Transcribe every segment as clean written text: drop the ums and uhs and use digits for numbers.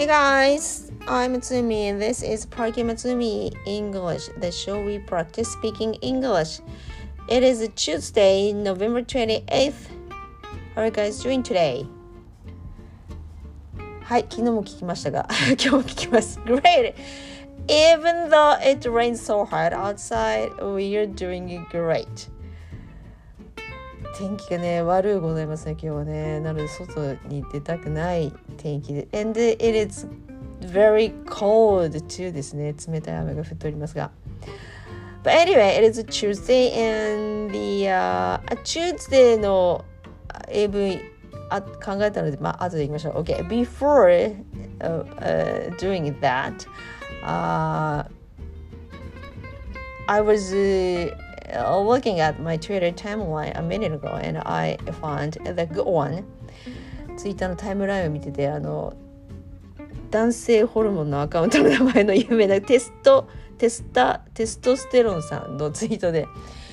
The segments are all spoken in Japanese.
Hey guys, I'm Matsumi and this is Parky Matsumi English, the show we practice speaking English. It is a Tuesday, November 28th. How are you guys doing today? はい、昨日も聞きましたが今日も聞きます。Great! Even though it rains so hard outside, we are doing great. 天気がね、悪いございますね、今日はね。なので、外に出たくない天気で。And it is very cold too ですね。冷たい雨が降っておりますが。But anyway, it is a Tuesday and Tuesday の英文考えたので、後で言いましょう。Okay, before doing that, I was looking at my Twitter timeline a minute ago and I found the good one. ツイッターのタイムラインを見てて、男性ホルモンのアカウントの名前の有名なテストステロンさんのツイートで、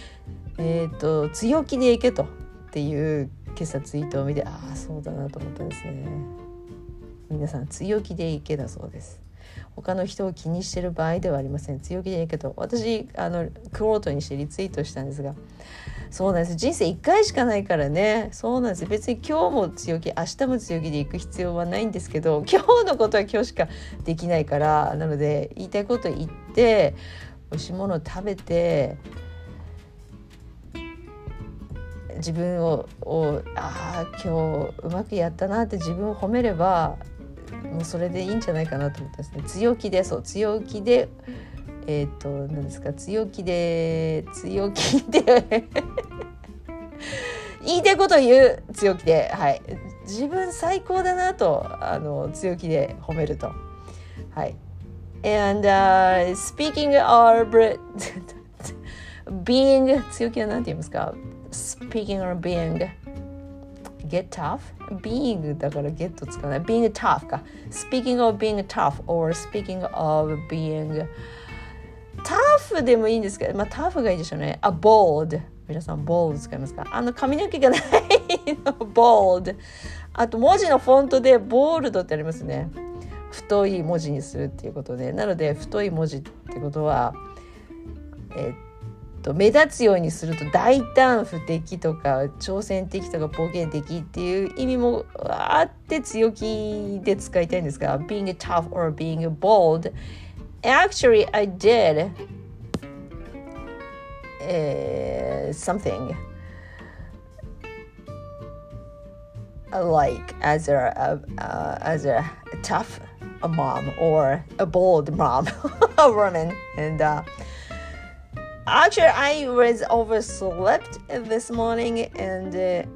強気でいけとっていう今朝ツイートを見て、そうだなと思ったんですね。皆さん強気でいけだそうです。他の人を気にしてる場合ではありません。強気でいいけど、私クロートにしてリツイートしたんですが、そうなんです。人生1回しかないからね。そうなんです。別に今日も強気、明日も強気で行く必要はないんですけど、今日のことは今日しかできないから、なので言いたいこと言って美味しいものを食べて、自分を今日うまくやったなって自分を褒めれば、もうそれでいいんじゃないかなと思ったんですね。強気で何ですか、強気で言いたいことを言う、強気で、はい、自分最高だなと強気で褒めると、はい。And speaking of being 強気は何て言いますか？ Speaking of being get tough? Being だから get 使わない。Being tough か。Speaking of being tough or speaking of being tough でもいいんですけど、tough がいいでしょうね。bold。皆さん bold 使いますか？髪の毛がないのbold。あと文字のフォントで bold ってありますね。太い文字にするっていうことで。なので太い文字ってことは目立つようにすると大胆不敵とか挑戦的とか冒険的っていう意味もあって強気で使いたいんですが、 being tough or being bold. Actually, I did something like as a tough mom or a bold mom, a woman, and actually, I was overslept this morning and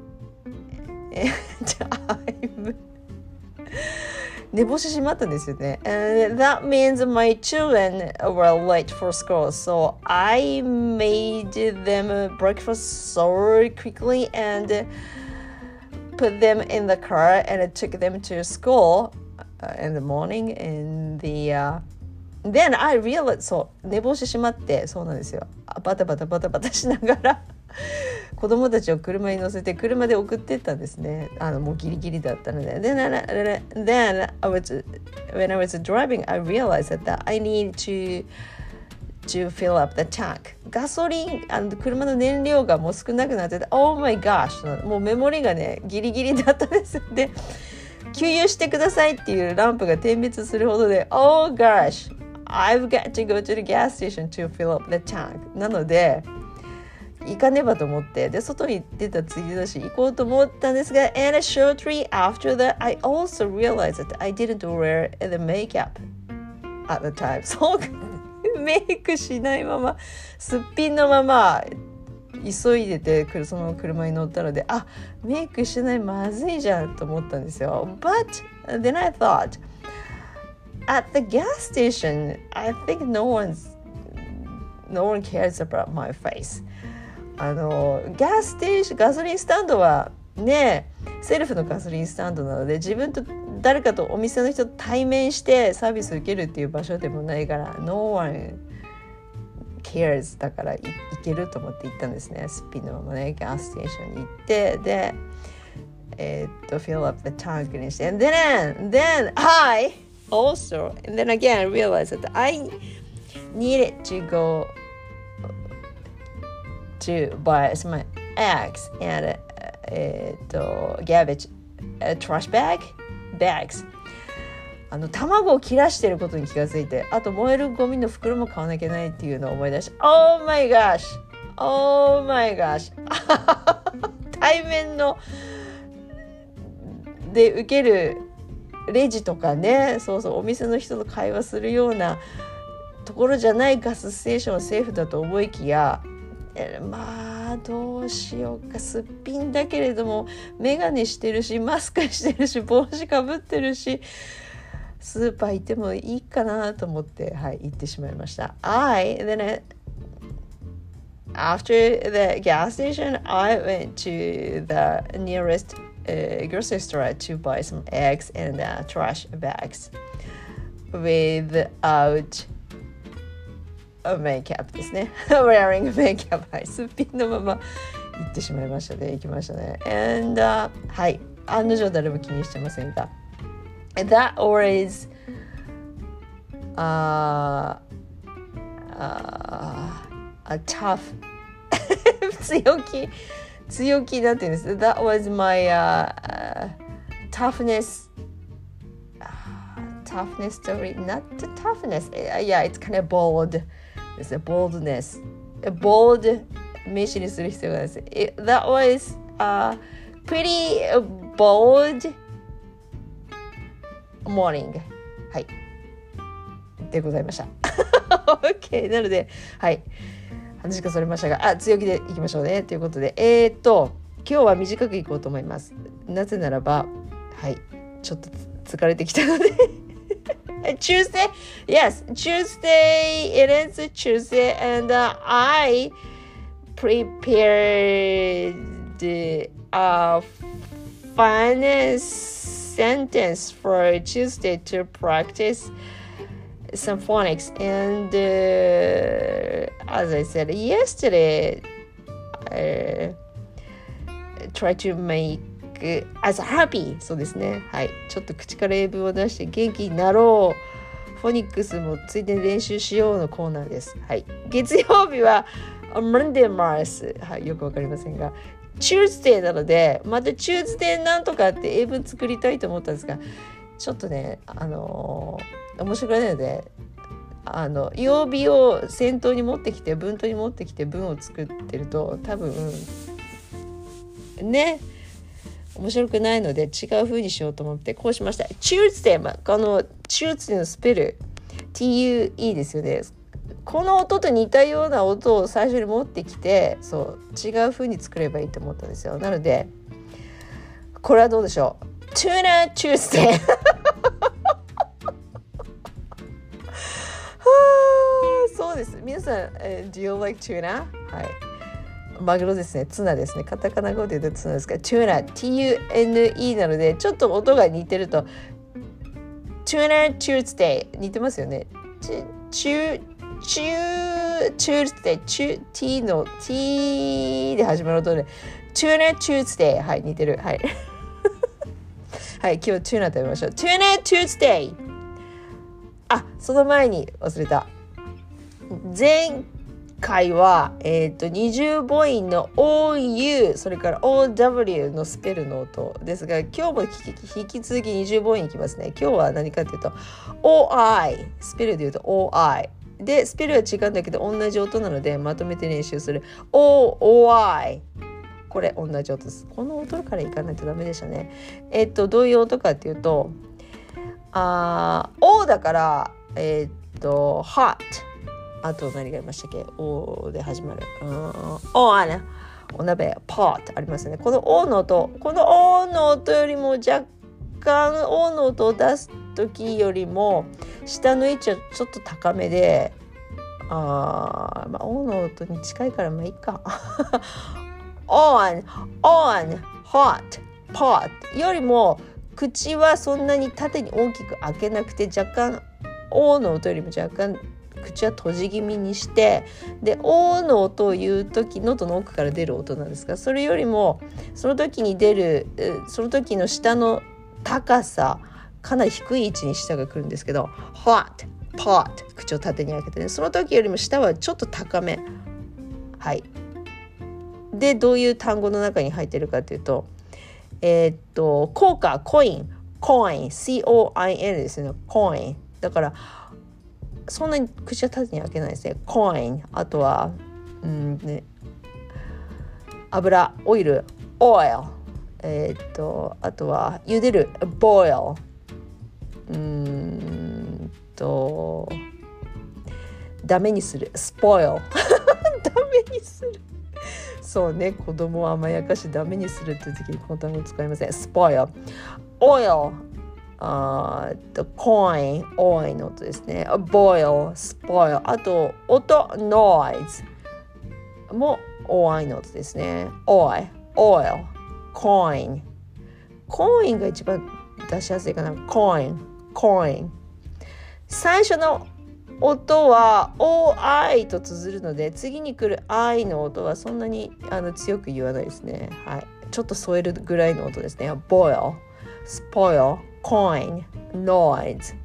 I'm 寝坊してしまったんですよね。And that means my children were late for school, so I made them breakfast so quickly and put them in the car and took them to school in the morning. And then I realized そう寝坊してしまって、そうなんですよ。バタバタしながら子供たちを車に乗せて車で送ってったんですね。もうギリギリだったので。Then when I was driving, I realized that I need to fill up the tank. ガソリン車の燃料がもう少なくなってて、Oh my gosh! もうメモリがねギリギリだったんですで、給油してくださいっていうランプが点滅するほどで、Oh gosh!I've got to go to the gas station to fill up the tank. なので行かねばと思って、で外に出たついでだし行こうと思ったんですが、 and shortly after that I also realized that I didn't wear the makeup at the time. そうメイクしないまますっぴんのまま急いでてその車に乗ったので、メイクしてない、まずいじゃんと思ったんですよ。 But then I thought at the gas station, I think no one cares about my face. ガソリンスタンドはね、セルフのガソリンスタンドなので、自分と誰かとお店の人と対面してサービスを受けるっていう場所でもないから、No one cares だから行けると思って行ったんですね。すっぴんのままね、ガスステーションに行って、でfill up the tank にして、and then I also, and then again I realized that I needed to go to buy some eggs and garbage trash bags 卵を切らしてることに気がついて、あと燃えるゴミの袋も買わなきゃいけないっていうのを思い出して、Oh my gosh対面ので受けるレジとかね、そうそうお店の人と会話するようなところじゃないガスステーションはセーフだと思いきや、まあどうしようか、すっぴんだけれどもメガネしてるしマスクしてるし帽子かぶってるし、スーパー行ってもいいかなと思って、はい、行ってしまいました。After the gas station, I went to the nearest grocery store to buy some eggs and trash bags without makeup ですね。wearing makeup、はい、すっぴんのまま行ってしまいましたね。行きましたね。And、はい、案の定誰も気にしてませんが。That was a tough 強気なんていうんです。That was my toughness story, not the toughness. Yeah, it's kind of bold. It's a boldness. A bold 名詞にする必要がないです。That was pretty bold morning はいでございました。OK なので、はい話がそれましたが、強気でいきましょうねということで、今日は短くいこうと思います。なぜならば、はいちょっと疲れてきたのでTuesday, yes, Tuesday, it is Tuesday, and I prepared a fun sentence for Tuesday to practice some phonics. And as I said yesterday, try to make as happy そうですね、はいちょっと口から英文を出して元気になろう、フォニックスもついでに練習しようのコーナーです。はい、月曜日は Monday Mars、はい、よくわかりませんが Tuesday なので、また Tuesday なんとかって英文作りたいと思ったんですが、ちょっとね面白くないので、曜日を先頭に持ってきて文頭に持ってきて文を作ってると多分ね面白くないので違う風にしようと思ってこうしました。Tuesday、この Tuesday のスペル TUE ですよね。この音と似たような音を最初に持ってきて、そう違う風に作ればいいと思ったんですよ。なのでこれはどうでしょう。 Tuna Tuesday そうです。皆さん、Do you like tuna? はいマグロですね。ツナですね。カタカナ語で言うとツナですから、tuna T-U-N-E なのでちょっと音が似てると Tuna Tuesday 似てますよね。Tuesday T の T で始まる音で Tuna Tuesday はい似てるはいはい今日 tuna 食べましょう。 Tuna Tuesday。 その前に忘れた、前回は、20母音の OU それから OW のスペルの音ですが、今日も引き続き20母音いきますね。今日は何かというと OI スペルで言うと OI でスペルは違うんだけど同じ音なのでまとめて練習する OI これ同じ音です。この音からいかないとダメでしたね。どういう音かっていうとO だからhotあと何がありましたっけ O で始まるお鍋 pot ありますね。この O の音よりも若干 O の音を出す時よりも下の位置はちょっと高めでO の音に近いからまあいいかon hot pot よりも口はそんなに縦に大きく開けなくて若干 O の音よりも若干口は閉じ気味にして、で O の音を言う時喉の奥から出る音なんですが、それよりもその時に出るその時の下の高さかなり低い位置に舌が来るんですけど hot, pot 口を縦に開けてね、その時よりも舌はちょっと高め。はい。でどういう単語の中に入ってるかというと効果コイン coin coin ですね。コインだからそんなに口は縦に開けないですね。コイン、あとは油オイル oil、あとは茹でる boil、ダメにする spoil ダメにするそうね、子供を甘やかしダメにするっていう時にこの単語を使いません。 spoil oil coin オイの音ですね。 boil spoil、 あと音 noise も OI の音ですね。 oil coin コインが一番出しやすいかな。コイン最初の音は OI と綴るので次に来る I の音はそんなに強く言わないですね。はい、ちょっと添えるぐらいの音ですね。 boil spoil coin noise。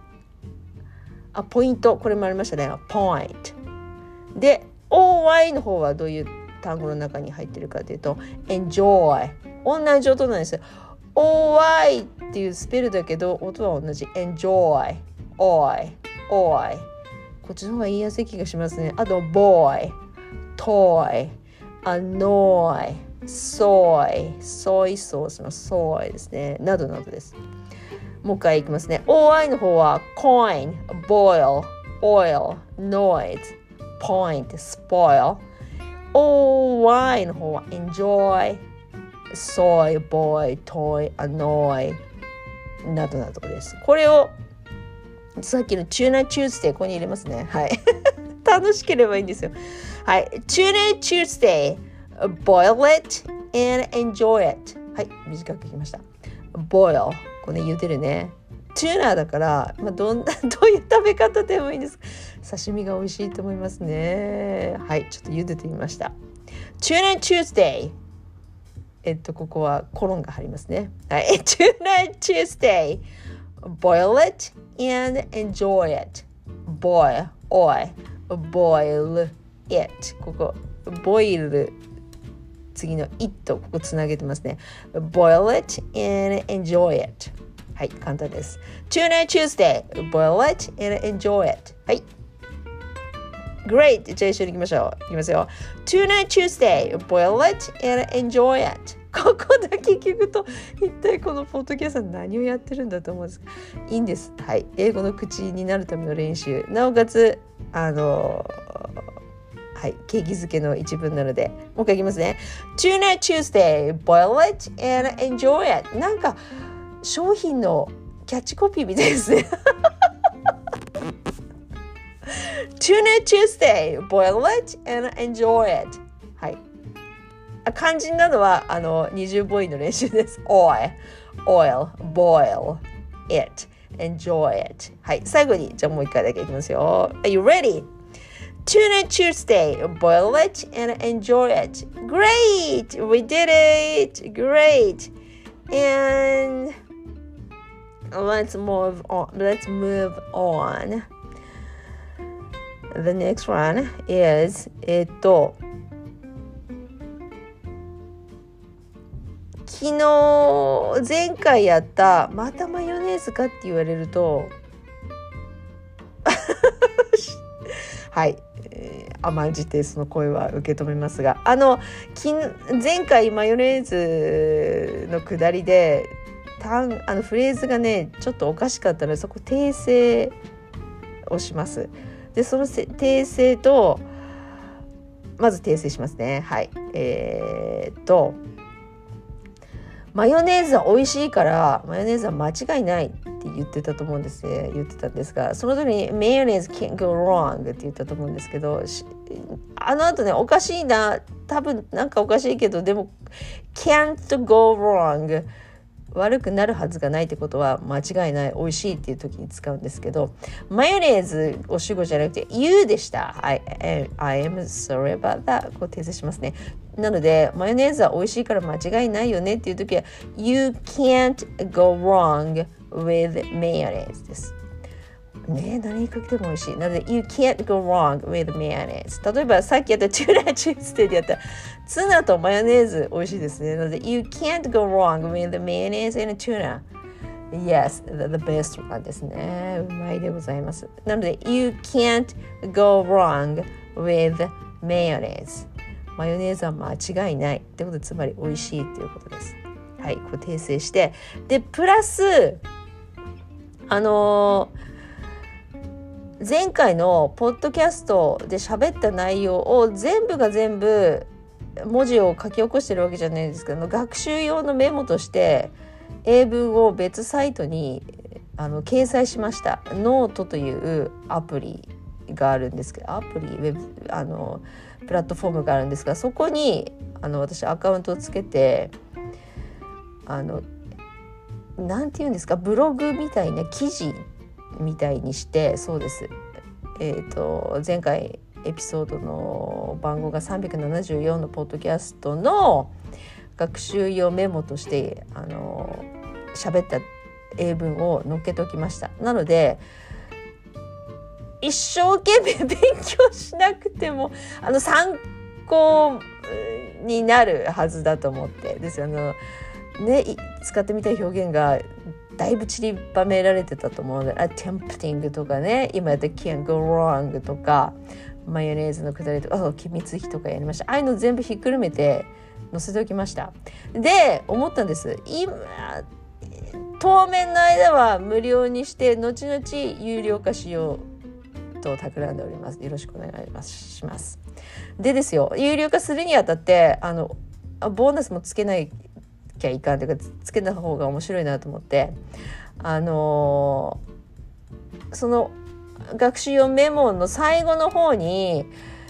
ポイント、これもありましたね。 point で OY の方はどういう単語の中に入ってるかというと enjoy、 同じ音なんですよ。 OY っていうスペルだけど音は同じ。 enjoy oi こっちの方が言いやすい気がしますね。あと boy toy annoy soy ソイソースのソイですね、などなどです。もう一回いきますね。 OI の方は coin boil oil noise point spoil。 OY の方は enjoy soy boy toy annoy などなどです。これをさっきのチューナーチューズデーここに入れますね。はい楽しければいいんですよ。はい、チューナーチューズデー boil it and enjoy it。 はい、短くいきました。 boil これ茹でるね。チューナーだから、どういう食べ方でもいいんです。刺身が美味しいと思いますね。はい、ちょっと茹でてみました。チューナーチューズデー、ここはコロンが入りますね。はい、チューナーチューズデー boil it and enjoy it。 boil it、 ここ boil 次の it ここつなげてますね。 boil it and enjoy it。 はい、簡単です。 Tuna Tuesday boil it and enjoy it。 はい、 Great。 じゃあ一緒に行きましょう。いきますよ。 Tuna Tuesday boil it and enjoy it。 ここだけ聞くと一体このポッドキャスト何をやってるんだと思うんですが、いいんです。はい、英語の口になるための練習、なおかつはい、景気づけの一文なのでもう一回いきますね。 Tuna Tuesday boil it and enjoy it。 なんか商品のキャッチコピーみたいですねTuna Tuesday boil it and enjoy it。 はい、肝心なのは二重母音の練習です。 oil boil it enjoy it。 はい、最後にじゃあもう一回だけいきますよ。 Are you ready? Tuna Tuesday boil it and enjoy it。 Great, we did it. Great. And let's move on. The next one is 昨日前回やったまたマヨネーズかって言われるとはい、甘んじてその声は受け止めますが、前回マヨネーズのくだりでフレーズがねちょっとおかしかったのでそこ訂正をします。でその訂正とまず訂正しますね。はい、マヨネーズは美味しいからマヨネーズは間違いないって言ってたんですが、その時にマヨネーズ can't go wrong って言ったと思うんですけど、後ねおかしいな、多分なんかおかしいけどでも can't go wrong、悪くなるはずがないってことは間違いない、美味しいっていう時に使うんですけど、マヨネーズを主語じゃなくて you でした。I am sorry about that。 こう訂正しますね。なのでマヨネーズは美味しいから間違いないよねっていう時は you can't go wrong with mayonnaise です。ね、何にかけても美味しい。なので You can't go wrong with mayonnaise。 例えばさっきやったチューナチュースデーでやったツナとマヨネーズ美味しいですね。なので You can't go wrong with mayonnaise and tuna。Yes, the best one ですね。うまいでございます。なので You can't go wrong with mayonnaise。 マヨネーズは間違いないってことで、つまり美味しいということです。はい、これ訂正して、でプラス前回のポッドキャストで喋った内容を全部が全部文字を書き起こしてるわけじゃないですけど、学習用のメモとして英文を別サイトに掲載しました。ノートというアプリがあるんですけど、ウェブプラットフォームがあるんですが、そこに私アカウントをつけてなんていうんですか、ブログみたいな記事みたいにして、そうです、前回エピソードの番号が374のポッドキャストの学習用メモとして喋った英文を載っけておきました。なので一生懸命勉強しなくても参考になるはずだと思ってですね、使ってみたい表現がだいぶ散りばめられてたと思うので、tempting とかね、今やった can't go wrong とか、マヨネーズのくだりとか、機密費とかやりました。ああいうの全部ひっくるめて載せておきました。で思ったんです。今当面の間は無料にして、後々有料化しようと企んでおります。よろしくお願いします。でですよ、有料化するにあたってボーナスもつけないきゃいかんというか、つけた方が面白いなと思って、その学習用メモの最後の方に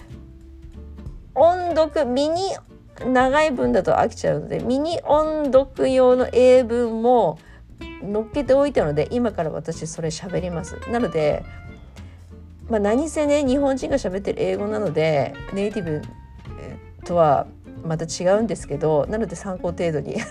音読、ミニ長い文だと飽きちゃうのでミニ音読用の英文も載っけておいたので、今から私それ喋ります。なので何せね、日本人が喋ってる英語なのでネイティブとはまた違うんですけど、なので参考程度に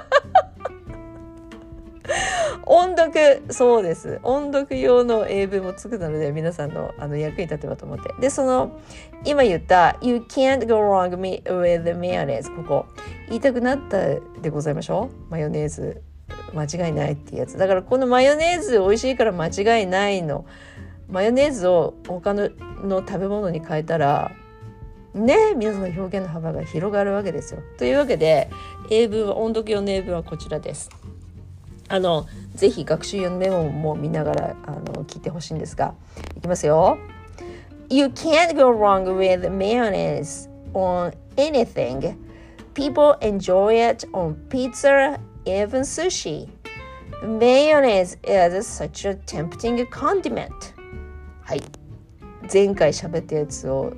音読、そうです、音読用の英文もつくので皆さんの役に立てばと思って。で今言った You can't go wrong with mayonnaise、 ここ言いたくなったでございましょう。マヨネーズ間違いないっていうやつだから、このマヨネーズ美味しいから間違いないの、マヨネーズを他の食べ物に変えたらね、皆さんの表現の幅が広がるわけですよ。というわけで音読用の英文はこちらです。ぜひ学習用のメモも見ながら聞いてほしいんですが、いきますよ。 You can't go wrong with mayonnaise on anything. People enjoy it on pizza, even sushi. Mayonnaise is such a tempting condiment. はい、前回喋ったやつを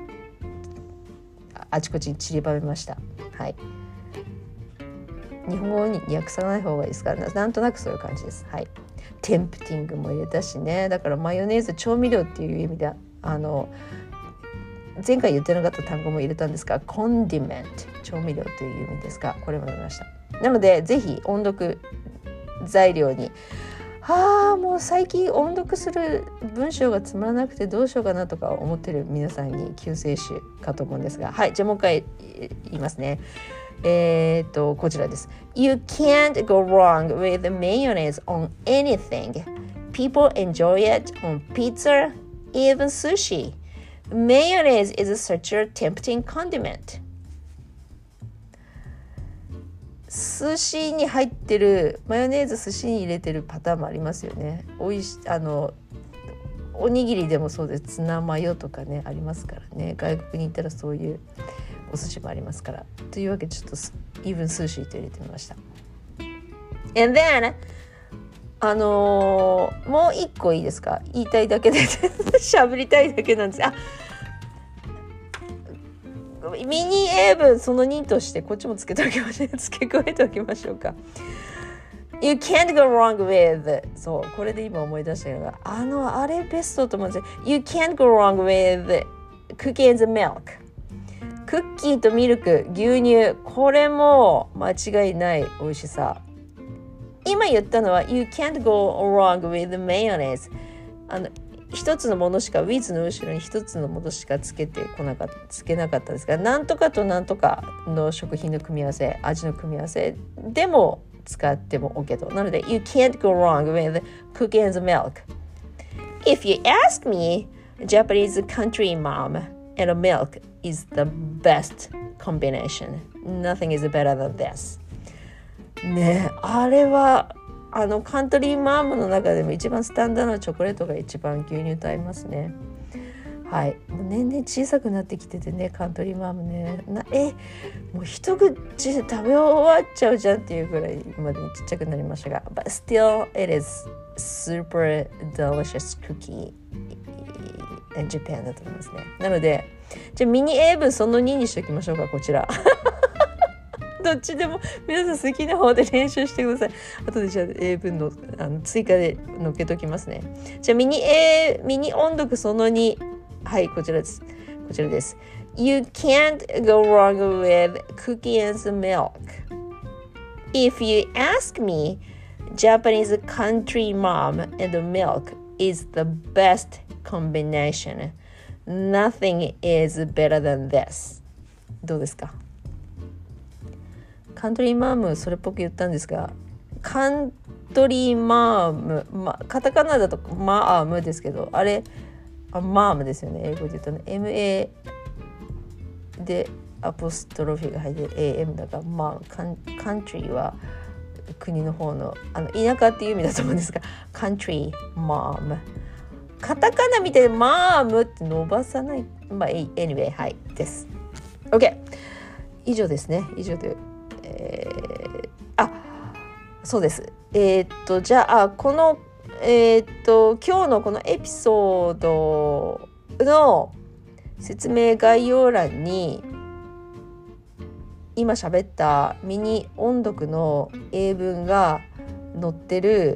あちこちに散りばめました。はい、日本語に訳さない方がいいですから、なんとなくそういう感じです。はい、テンプティングも入れたしね。だからマヨネーズ調味料っていう意味で前回言ってなかった単語も入れたんですが、コンディメント、調味料という意味ですが、これも入れました。なのでぜひ音読材料に、もう最近音読する文章がつまらなくてどうしようかなとか思ってる皆さんに救世主かと思うんですが、はい、じゃあもう一回言いますね。こちらです。 You can't go wrong with mayonnaise on anything. People enjoy it on pizza, even sushi. Mayonnaise is such a tempting condiment. 寿司に入ってるマヨネーズ、寿司に入れてるパターンもありますよね。おにぎりでもそうです。ツナマヨとかねありますからね。外国に行ったらそういうお寿司もありますから。というわけでちょっとeven sushiと入れてみました。And then もう一個いいですか。言いたいだけで喋りたいだけなんです。ミニ英文その2としてこっちも付け加えておきましょうか。You can't go wrong with、 そうこれで今思い出したのがあれベストと思うんですよ。 You can't go wrong with cookies and milk。 クッキーとミルク、牛乳、これも間違いない美味しさ。 今言ったのは You can't go wrong with mayonnaise 一つのものしか with の後ろに一つのものしかつけなかったですが、なんとかとなんとかの食品の組み合わせ、味の組み合わせでも使っても OK と。なので You can't go wrong with cookie and milk. If you ask me, Japanese country mom and milk is the best combination. Nothing is better than this. ね、あれはカントリーマームの中でも一番スタンダードなチョコレートが一番牛乳と合いますね。はい、もう年々小さくなってきててね、カントリーマームね、もう一口で食べ終わっちゃうじゃんっていうぐらいまでにちっちゃくなりましたが、but still it is super delicious cookie in Japan だと思いますね。なので、じゃあミニ英文その2にしておきましょうか、こちら。どっちでも皆さん好きな方で練習してください。あとでじゃあ英文の、追加で載っけときますね。じゃあミニ音読その2、はい、こちらです。You can't go wrong with cookie and milk. If you ask me, Japanese country mom and milk is the best combination. Nothing is better than this. どうですか？カントリーマームそれっぽく言ったんですが、カントリーマーム、カタカナだとマームですけど、あれマームですよね、英語で言ったの MA でアポストロフィーが入って AM だから、カントリーは国の方の田舎っていう意味だと思うんですが、カントリーマーム、カタカナみたいにマームって伸ばさない、anyway はいです。 OK、 以上ですね。以上でそうです。じゃあこの今日のこのエピソードの説明概要欄に今喋ったミニ音読の英文が載ってる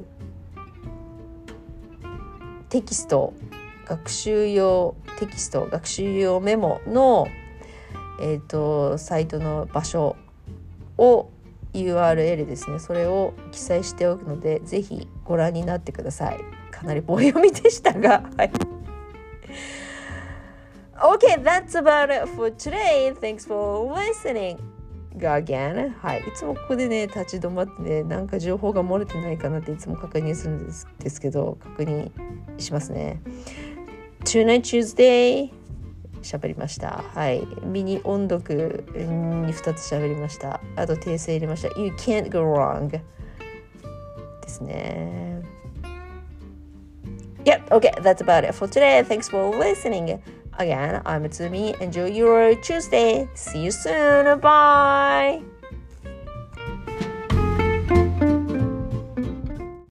テキスト、学習用メモのサイトの場所を URL ですね、それを記載しておくので、ぜひご覧になってください。かなり棒読みでしたが、はい。Okay, that's about it for today. Thanks for listening again. はい、いつもここでね立ち止まってね、なんか情報が漏れてないかなっていつも確認するんですけど、確認しますね。Tonight Tuesday喋りました。はい。ミニ音読に2つ喋りました。あと訂正入れました。You can't go wrong ですね。Yep, okay, that's about it for today. Thanks for listening. Again, I'm Tsumi. Enjoy your Tuesday. See you soon. Bye.